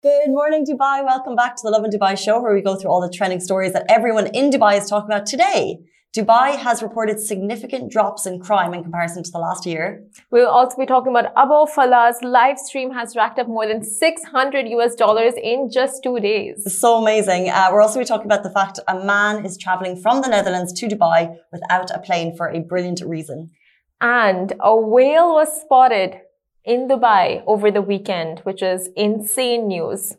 Good morning, Dubai. Welcome back to the Love in Dubai show, where we go through all the trending stories that everyone in Dubai is talking about today. Dubai has reported significant drops in crime in comparison to the last year. We'll also be talking about Abu Falah's live stream has racked up more than $600 in just 2 days. So amazing. We're also be talking about the fact a man is traveling from the Netherlands to Dubai without a plane for a brilliant reason. And a whale was spotted in Dubai over the weekend, which is insane news.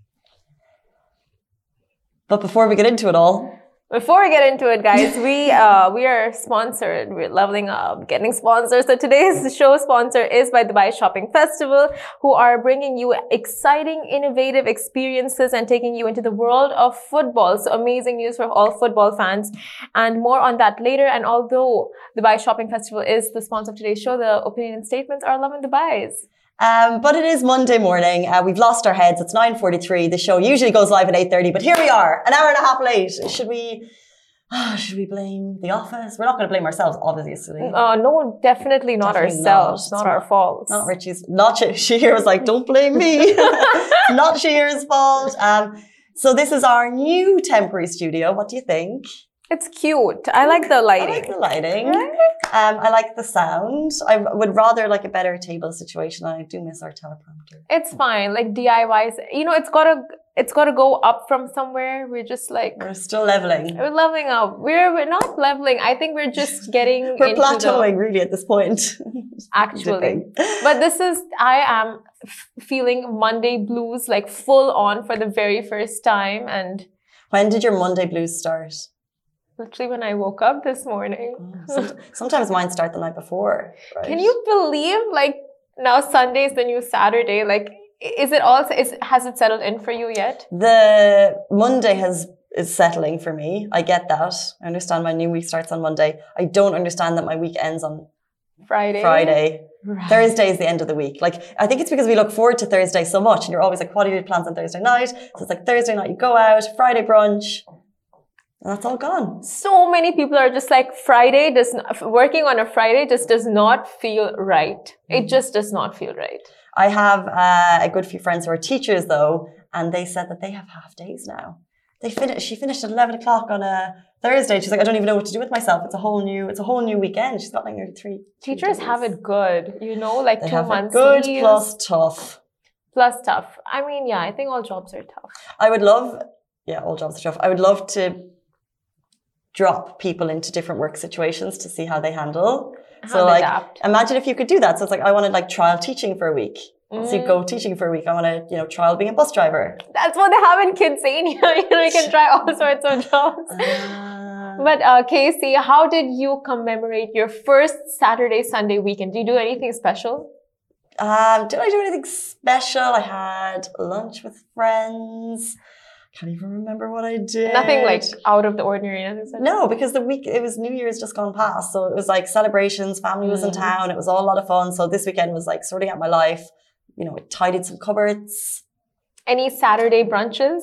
But before we get into it all, Before we get into it, guys, we are sponsored. We're leveling up, getting sponsors. So today's show sponsor is by Dubai Shopping Festival, who are bringing you exciting, innovative experiences and taking you into the world of football. So amazing news for all football fans, and more on that later. And although Dubai Shopping Festival is the sponsor of today's show, the opinion and statements are Lovin Dubai's. But it is Monday morning. We've lost our heads. It's 9:43. The show usually goes live at 8:30, but here we are, an hour and a half late. Should we blame the office? We're not going to blame ourselves, obviously. No, definitely not ourselves. Not our fault. Not Richie's. Not Shahir was like, don't blame me. Not Shahir's fault. So this is our new temporary studio. What do you think? It's cute. I like the lighting. I like the lighting. I like the sound. I would rather like a better table situation. I do miss our teleprompter. It's fine. Like DIYs, it's gotta go up from somewhere. We're just like we're still leveling. We're leveling up. We're not leveling. I think we're just getting we're plateauing really at this point. Actually. But I am feeling Monday blues like full on for the very first time. And when did your Monday blues start? Literally when I woke up this morning. Sometimes mine start the night before. Right? Can you believe like now Sunday is the new Saturday? Like, has it settled in for you yet? The Monday is settling for me. I get that. I understand my new week starts on Monday. I don't understand that my week ends on Friday. Right. Thursday is the end of the week. Like, I think it's because we look forward to Thursday so much, and you're always like, what are your plans on Thursday night? So it's like Thursday night you go out, Friday brunch. And that's all gone. So many people are just like, working on a Friday just does not feel right. It just does not feel right. I have a good few friends who are teachers though, and they said that they have half days now. She finished at 11 o'clock on a Thursday. She's like, I don't even know what to do with myself. It's a whole new weekend. She's got like nearly three. Teachers have it good, like they 2 months. Good plus tough. Plus tough. I mean, yeah, I think all jobs are tough. All jobs are tough. I would love to drop people into different work situations to see how they handle. So like, imagine if you could do that. So it's like, I want to like trial teaching for a week. So you go teaching for a week. I want to, trial being a bus driver. That's what they have in Kidsania. You can try all sorts of jobs. But Casey, how did you commemorate your first Saturday, Sunday weekend? Did you do anything special? Did I do anything special? I had lunch with friends. Can't even remember what I did. Nothing like out of the ordinary. No, because it was New Year's just gone past. So it was like celebrations, family was in town. It was all a lot of fun. So this weekend was like sorting out my life. I tidied some cupboards. Any Saturday brunches?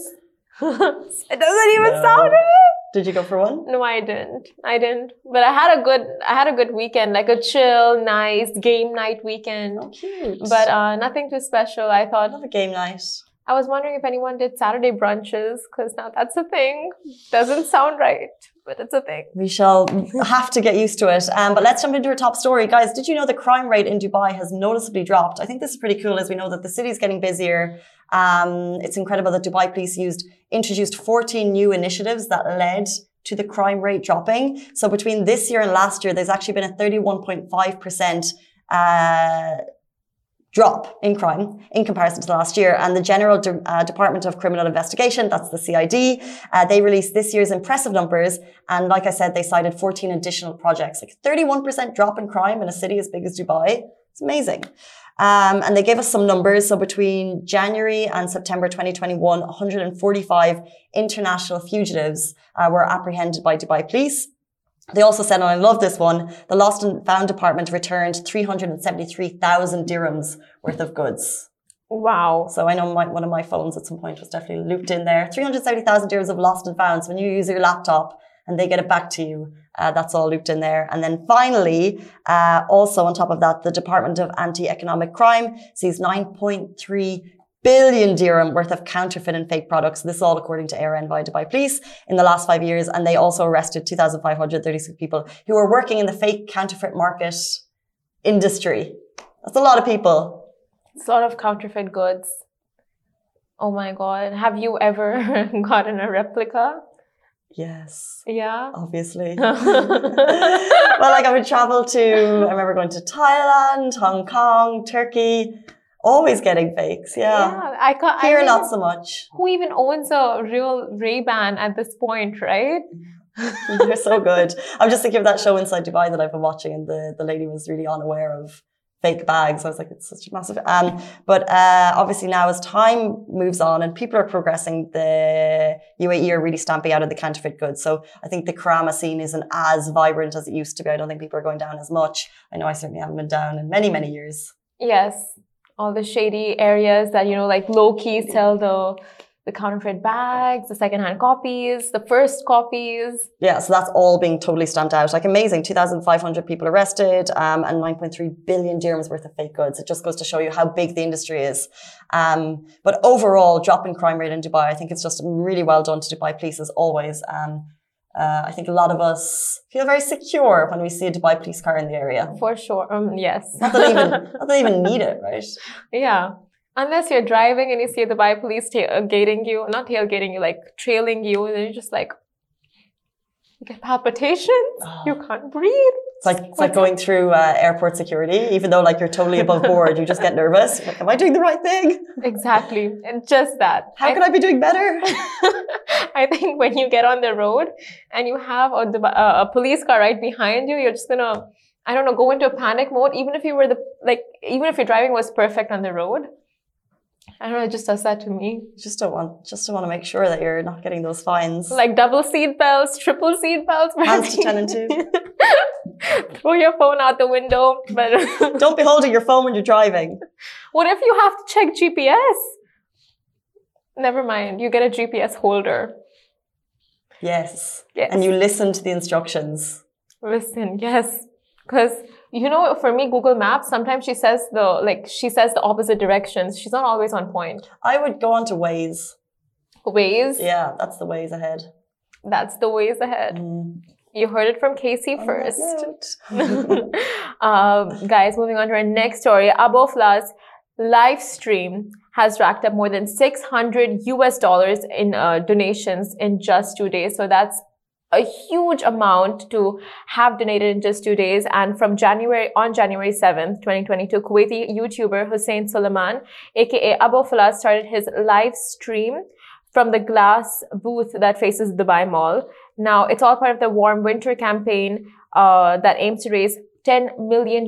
It doesn't even sound right. Did you go for one? No, I didn't. But I had a good weekend, like a chill, nice game night weekend. Oh, cute. But nothing too special. I thought. Love a game night. I was wondering if anyone did Saturday brunches, because now that's a thing. Doesn't sound right, but it's a thing. We shall have to get used to it. But let's jump into our top story. Guys, did you know the crime rate in Dubai has noticeably dropped? I think this is pretty cool as we know that the city is getting busier. It's incredible that Dubai police introduced 14 new initiatives that led to the crime rate dropping. So between this year and last year, there's actually been a 31.5% drop in crime in comparison to last year. And the General Department of Criminal Investigation, that's the CID, they released this year's impressive numbers. And like I said, they cited 14 additional projects, like 31% drop in crime in a city as big as Dubai. It's amazing. And they gave us some numbers. So between January and September 2021, 145 international fugitives were apprehended by Dubai police. They also said, and I love this one, the Lost and Found Department returned 373,000 dirhams worth of goods. Wow. So I know one of my phones at some point was definitely looped in there. 370,000 dirhams of lost and found. So when you use your laptop and they get it back to you, that's all looped in there. And then finally, also on top of that, the Department of Anti-Economic Crime sees 9.3 billion dirham worth of counterfeit and fake products. This is all according to ARN via Dubai Police in the last 5 years. And they also arrested 2,536 people who were working in the fake counterfeit market industry. That's a lot of people. It's a lot of counterfeit goods. Oh my God. Have you ever gotten a replica? Yes. Yeah. Obviously. Well, like I would travel to, I remember going to Thailand, Hong Kong, Turkey, always getting fakes. Yeah. Here, not so much. Who even owns a real Ray-Ban at this point, right? They're so good. I'm just thinking of that show Inside Dubai that I've been watching, and the lady was really unaware of fake bags. I was like, it's such a massive. But obviously now as time moves on and people are progressing, the UAE are really stamping out of the counterfeit goods. So I think the Karama scene isn't as vibrant as it used to be. I don't think people are going down as much. I know I certainly haven't been down in many, many years. Yes. All the shady areas that, you know, like low-key sell the counterfeit bags, the secondhand copies, the first copies. Yeah, so that's all being totally stamped out. Like amazing, 2,500 people arrested and 9.3 billion dirhams worth of fake goods. It just goes to show you how big the industry is. But overall, drop in crime rate in Dubai, I think it's just really well done to Dubai Police as always. I think a lot of us feel very secure when we see a Dubai police car in the area. For sure, yes. Not that they even need it, right? Yeah. Unless you're driving and you see the Dubai police tailgating you, not tailgating you, like trailing you, and you're just like, you get palpitations, you can't breathe. It's like going through airport security, even though like you're totally above board, you just get nervous. You're like, am I doing the right thing? Exactly, and just that. How could I be doing better? I think when you get on the road and you have a police car right behind you, you're just gonna, I don't know, go into a panic mode. Even if even if your driving was perfect on the road. I don't know, it just does that to me. Just don't want to make sure that you're not getting those fines. Like double seat belts, triple seat belts. Hands to 10 and 2. Throw your phone out the window. But don't be holding your phone when you're driving. What if you have to check GPS? Never mind, you get a GPS holder. Yes. And you listen to the instructions. Listen, yes. Because you know, for me, Google Maps, sometimes she says the opposite directions. She's not always on point. I would go on to Waze. Waze? Yeah, that's the Waze ahead. That's the Waze ahead. You heard it from Casey first. Guys, moving on to our next story. Abofla's live stream has racked up more than $600 in donations in just 2 days. So that's a huge amount to have donated in just 2 days. And on January 7th, 2022, Kuwaiti YouTuber Hussein Suleiman, aka Abofla, started his live stream from the glass booth that faces Dubai Mall. Now, it's all part of the Warm Winter campaign that aims to raise $10 million.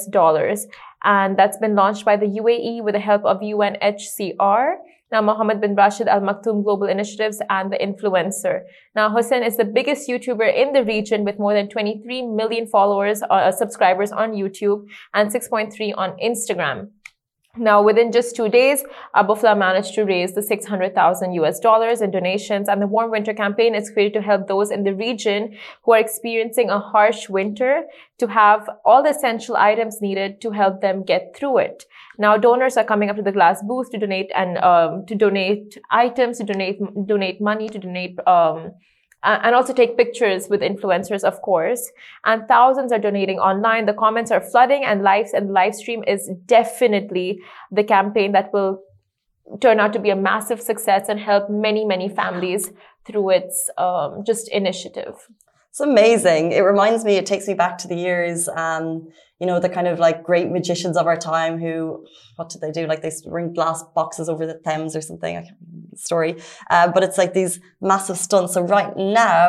And that's been launched by the UAE with the help of UNHCR. Now, Mohammed bin Rashid Al Maktoum Global Initiatives and the influencer. Now, Hussein is the biggest YouTuber in the region with more than 23 million followers, subscribers on YouTube and 6.3 on Instagram. Now, within just 2 days, Abofla managed to raise the $600,000 in donations, and the Warm Winter campaign is created to help those in the region who are experiencing a harsh winter to have all the essential items needed to help them get through it. Now, donors are coming up to the glass booth to donate to donate items, to donate money, to donate and also take pictures with influencers, of course. And thousands are donating online. The comments are flooding, and the live stream is definitely the campaign that will turn out to be a massive success and help many, many families through its just initiative. It's amazing. It reminds me, it takes me back to the years, you know, the kind of like great magicians of our time who, what did they do? Like they bring glass boxes over the Thames or something. I can't remember the story. But it's like these massive stunts. So right now,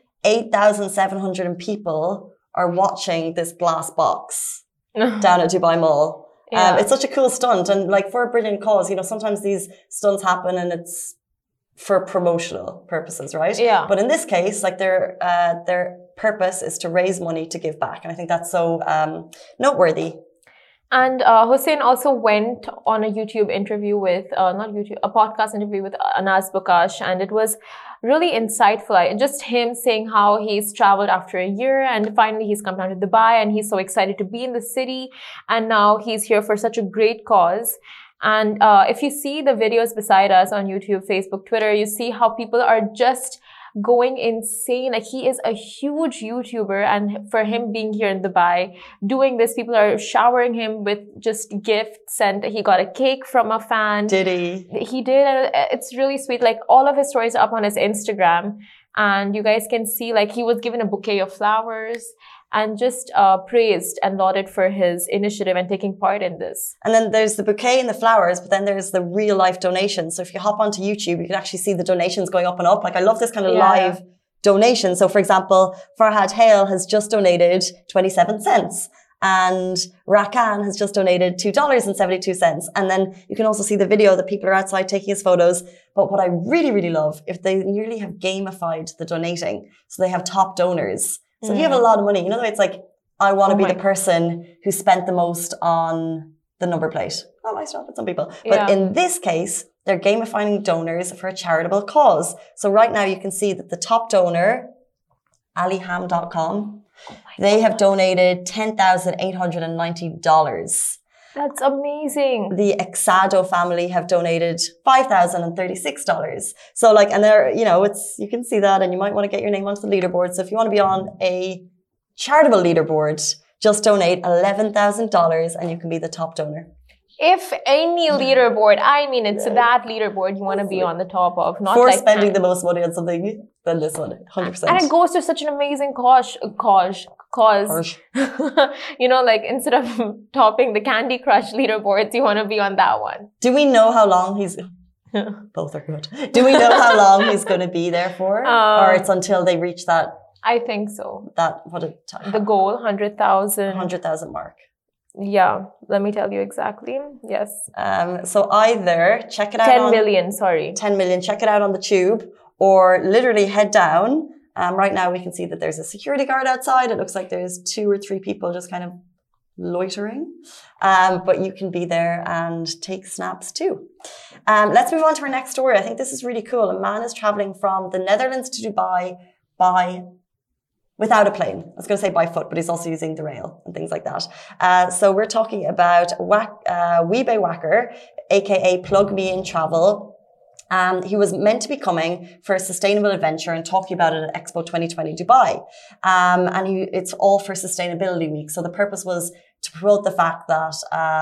8,700 people are watching this glass box down at Dubai Mall. Yeah. It's such a cool stunt. And like for a brilliant cause, you know, sometimes these stunts happen and it's for promotional purposes, right? Yeah. But in this case, like their purpose is to raise money to give back. And I think that's so noteworthy. And Hussein also went on a YouTube interview with, a podcast interview with Anas Bukash, and it was really insightful. Just him saying how he's traveled after a year and finally he's come down to Dubai and he's so excited to be in the city. And now he's here for such a great cause. And if you see the videos beside us on YouTube, Facebook, Twitter, you see how people are just going insane. Like, he is a huge YouTuber, and for him being here in Dubai doing this, people are showering him with just gifts, and he got a cake from a fan. Did he? He did, and it's really sweet. Like, all of his stories are up on his Instagram, and you guys can see, like, he was given a bouquet of flowers and just praised and lauded for his initiative and taking part in this. And then there's the bouquet and the flowers, but then there's the real life donations. So if you hop onto YouTube, you can actually see the donations going up and up. Like, I love this kind of live donation. So for example, Farhad Hale has just donated 27 cents. And Rakan has just donated $2.72. And then you can also see the video that people are outside taking his photos. But what I really, really love, if they nearly have gamified the donating. So they have top donors. So if you have a lot of money, you know, the way it's like, I want to be the person who spent the most on the number plate. That might stop with some people. But in this case, they're gamifying donors for a charitable cause. So right now you can see that the top donor, aliham.com, they have donated $10,890. That's amazing. The Exado family have donated $5,036. So like, and they're, you know, it's, you can see that, and you might want to get your name onto the leaderboard. So if you want to be on a charitable leaderboard, just donate $11,000 and you can be the top donor. If any leaderboard, I mean, it's that leaderboard you want to be on the top of, not for like spending the most money on something than this one, 100%. And it goes to such an amazing cause. You know, like, instead of topping the Candy Crush leaderboards, you want to be on that one. Do we know how long he's... Both are good. Do we know how long he's going to be there for? Or it's until they reach that... I think so. The goal, 100,000. 100,000 mark. Yeah, let me tell you exactly. Yes. So either check it out 10 million, 10 million, check it out on the tube, or literally head down. Right now we can see that there's a security guard outside. It looks like there's 2 or 3 people just kind of loitering. But you can be there and take snaps too. Let's move on to our next story. I think this is really cool. A man is traveling from the Netherlands to Dubai without a plane. I was going to say by foot, but he's also using the rail and things like that. So we're talking about Wiebe Wacker, aka Plug Me In Travel. He was meant to be coming for a sustainable adventure and talking about it at Expo 2020 Dubai. And it's all for Sustainability Week. So the purpose was to promote the fact that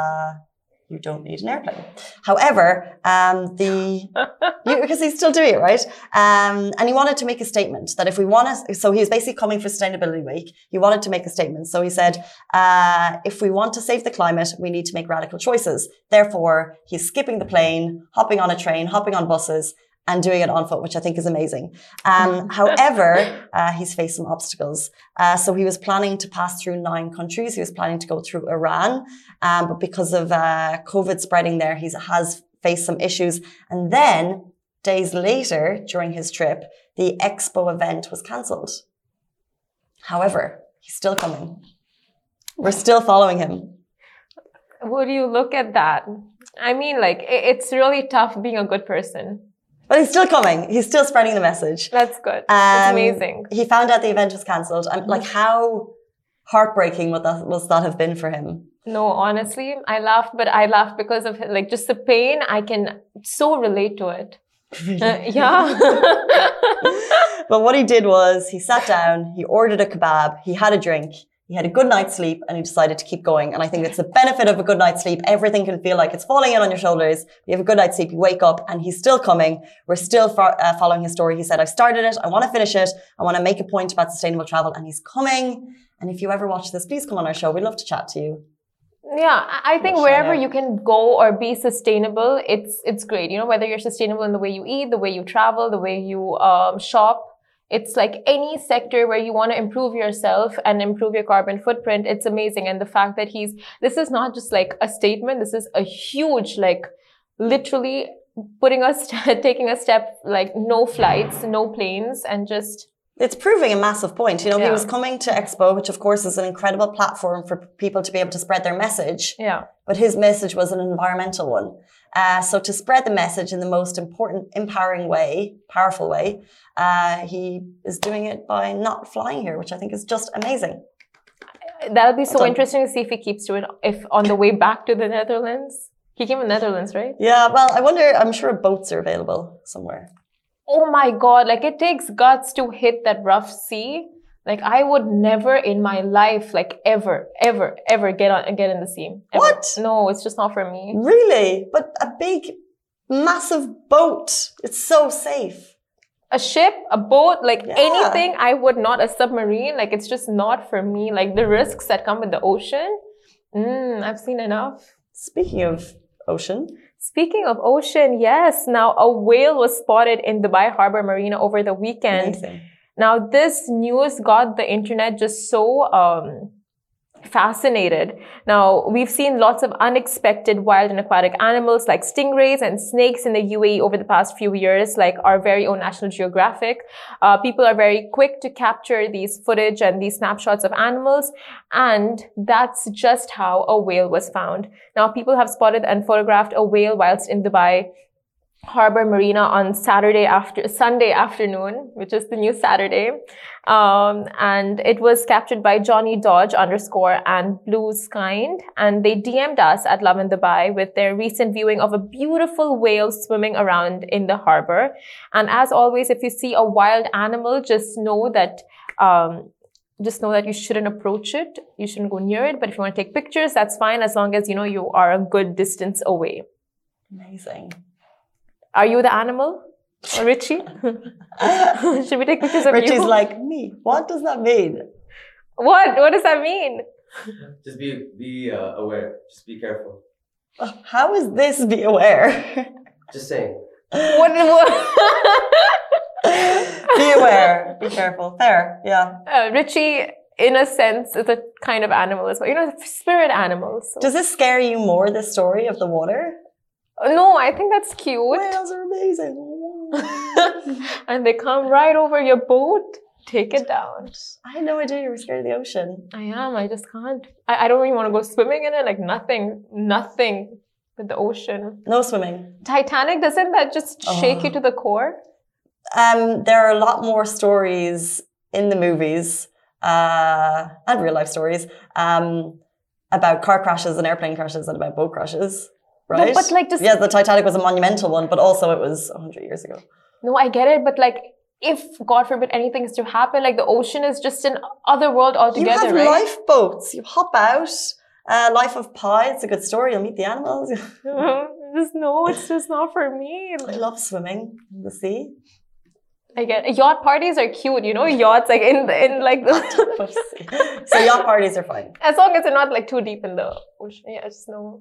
you don't need an airplane. However, because he's still doing it, right? And he wanted to make a statement that if we want to, so he was basically coming for Sustainability Week. He wanted to make a statement. So he said, if we want to save the climate, we need to make radical choices. Therefore, he's skipping the plane, hopping on a train, hopping on buses, and doing it on foot, which I think is amazing. However, he's faced some obstacles. So he was planning to pass through 9 countries. He was planning to go through Iran. But because of COVID spreading there, he has faced some issues. And then days later, during his trip, the Expo event was cancelled. However, he's still coming. We're still following him. Would you look at that? I mean, like, it's really tough being a good person. But he's still coming. He's still spreading the message. That's good. That's amazing. He found out the event was cancelled. Like, how heartbreaking would that have been for him? No, honestly, I laughed, but I laughed because of, like, just the pain. I can so relate to it. Yeah. But what he did was he sat down, he ordered a kebab, he had a drink, he had a good night's sleep, and he decided to keep going. And I think it's the benefit of a good night's sleep. Everything can feel like it's falling in on your shoulders. You have a good night's sleep, you wake up, and he's still coming. We're still following his story. He said, I've started it. I want to finish it. I want to make a point about sustainable travel. And he's coming. And if you ever watch this, please come on our show. We'd love to chat to you. Yeah, I think wherever you can go or be sustainable, it's great. You know, whether you're sustainable in the way you eat, the way you travel, the way you shop. It's like any sector where you want to improve yourself and improve your carbon footprint. It's amazing. And the fact that this is not just like a statement. This is a huge, like, literally taking a step, like, no flights, no planes, and just... It's proving a massive point. You know, he was coming to Expo, which of course is an incredible platform for people to be able to spread their message. Yeah. But his message was an environmental one. So to spread the message in the most important, empowering way, powerful way, he is doing it by not flying here, which I think is just amazing. That'll be so interesting to see if he keeps doing it, if on the way back to the Netherlands. He came from Netherlands, right? Yeah, well, I wonder, I'm sure boats are available somewhere. Oh my God, like it takes guts to hit that rough sea. Like I would never in my life, like ever get in the sea. Ever. What? No, it's just not for me. Really? But a big, massive boat. It's so safe. A ship, a boat, like Yeah. anything, I would not. A submarine, like it's just not for me. Like the risks that come with the ocean, I've seen enough. Speaking of ocean. Speaking of ocean, yes. Now a whale was spotted in Dubai Harbour Marina over the weekend. Amazing. Now this news got the internet just so fascinated. Now we've seen lots of unexpected wild and aquatic animals like stingrays and snakes in the UAE over the past few years, like our very own National Geographic. People are very quick to capture these footage and these snapshots of animals, and that's just how a whale was found. Now people have spotted and photographed a whale whilst in Dubai Harbour Marina on Sunday afternoon, which is the new Saturday. And it was captured by Johnny Dodge _ and Blues Kind. And they DM'd us at Love in Dubai with their recent viewing of a beautiful whale swimming around in the harbor. And as always, if you see a wild animal, just know that you shouldn't approach it. You shouldn't go near it. But if you want to take pictures, that's fine, as long as, you are a good distance away. Amazing. Are you the animal? Or Richie? Should we take pictures of Richie's you? like, me. What does that mean? What does that mean? Just be aware. Just be careful. How is this be aware? Just saying. What? Be aware. Be careful. Fair. Yeah. Richie, in a sense, is a kind of animal as well. Spirit animals. So. Does this scare you more, the story of the water? No, I think that's cute. Whales are amazing. And they come right over your boat. Take it down. I had no idea you were scared of the ocean. I am. I just can't. I don't even want to go swimming in it. Like nothing with the ocean. No swimming. Titanic, doesn't that just shake you to the core? There are a lot more stories in the movies and real life stories about car crashes and airplane crashes and about boat crashes. Right? No, but like just... Yeah, the Titanic was a monumental one, but also it was 100 years ago. No, I get it, but like, if, God forbid, anything is to happen, like the ocean is just an other world altogether, you have right? lifeboats. You hop out. Life of Pi, it's a good story. You'll meet the animals. It's just not for me. I love swimming in the sea. I get it. Yacht parties are cute, yachts like in like the... So yacht parties are fine. As long as they're not like too deep in the ocean. Yeah, just no.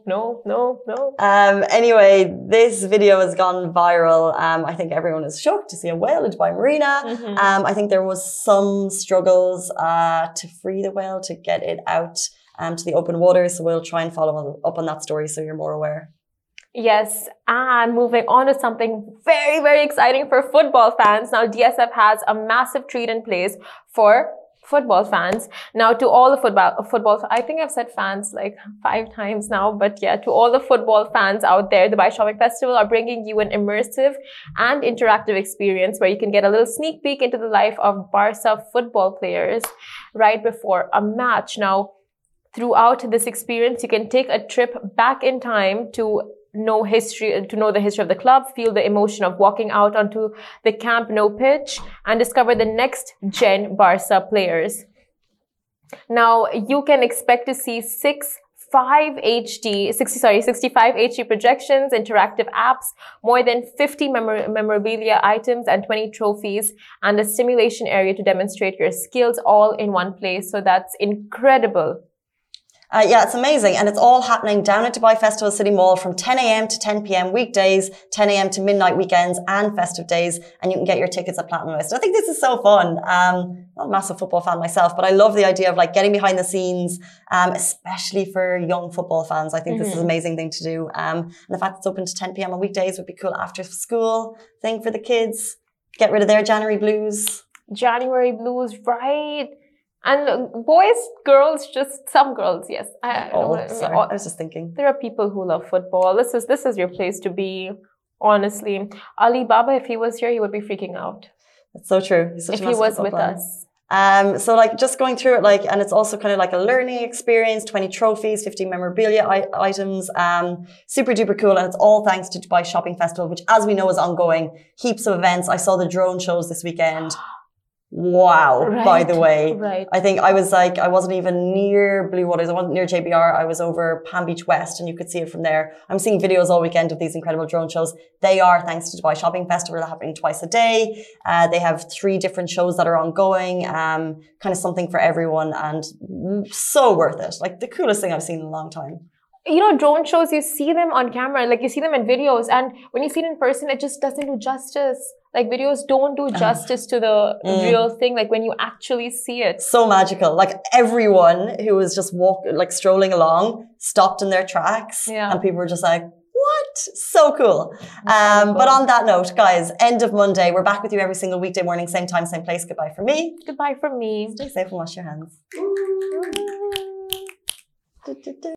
Anyway, this video has gone viral. I think everyone is shocked to see a whale in Dubai Marina. Mm-hmm. I think there was some struggles to free the whale, to get it out to the open water. So we'll try and follow up on that story so you're more aware. Yes, and moving on to something very, very exciting for football fans. Now, DSF has a massive treat in place for football fans. Now, to all the football, I think I've said fans like 5 times now, but yeah, to all the football fans out there, the Dubai Shopping Festival are bringing you an immersive and interactive experience where you can get a little sneak peek into the life of Barca football players right before a match. Now, throughout this experience, you can take a trip back in time to know the history of the club, feel the emotion of walking out onto the Camp Nou pitch, and discover the next gen Barca players. Now, you can expect to see 65 HD projections, interactive apps, more than 50 memorabilia items, and 20 trophies, and a simulation area to demonstrate your skills all in one place. So that's incredible. Yeah, it's amazing. And it's all happening down at Dubai Festival City Mall from 10 a.m. to 10 p.m. weekdays, 10 a.m. to midnight weekends and festive days. And you can get your tickets at Platinum List. I think this is so fun. Not a massive football fan myself, but I love the idea of like getting behind the scenes, especially for young football fans. I think this is an amazing thing to do. And the fact it's open to 10 p.m. on weekdays would be cool after school thing for the kids. Get rid of their January blues. January blues, right? And boys, girls, just some girls, yes. I was just thinking. There are people who love football. This is your place to be, honestly. Ali Baba, if he was here, he would be freaking out. That's so true. He's such a massive football fan. Us. So like just going through it, like, and it's also kind of like a learning experience, 20 trophies, 50 memorabilia items, super duper cool. And it's all thanks to Dubai Shopping Festival, which as we know is ongoing, heaps of events. I saw the drone shows this weekend. Wow, Right, by the way. right. I think I was like, I wasn't even near Blue Waters. I wasn't near JBR. I was over Palm Beach West and you could see it from there. I'm seeing videos all weekend of these incredible drone shows. They are thanks to Dubai Shopping Festival. They're happening twice a day. They have 3 different shows that are ongoing. Kind of something for everyone and so worth it. Like the coolest thing I've seen in a long time. You know, drone shows, you see them on camera, like you see them in videos, and when you see it in person, it just doesn't do justice. Like videos don't do justice to the real thing, like when you actually see it. So magical. Like everyone who was just strolling along stopped in their tracks and people were just like, what? So cool. But on that note, guys, end of Monday, we're back with you every single weekday morning, same time, same place. Goodbye from me. Goodbye from me. Stay safe and wash your hands.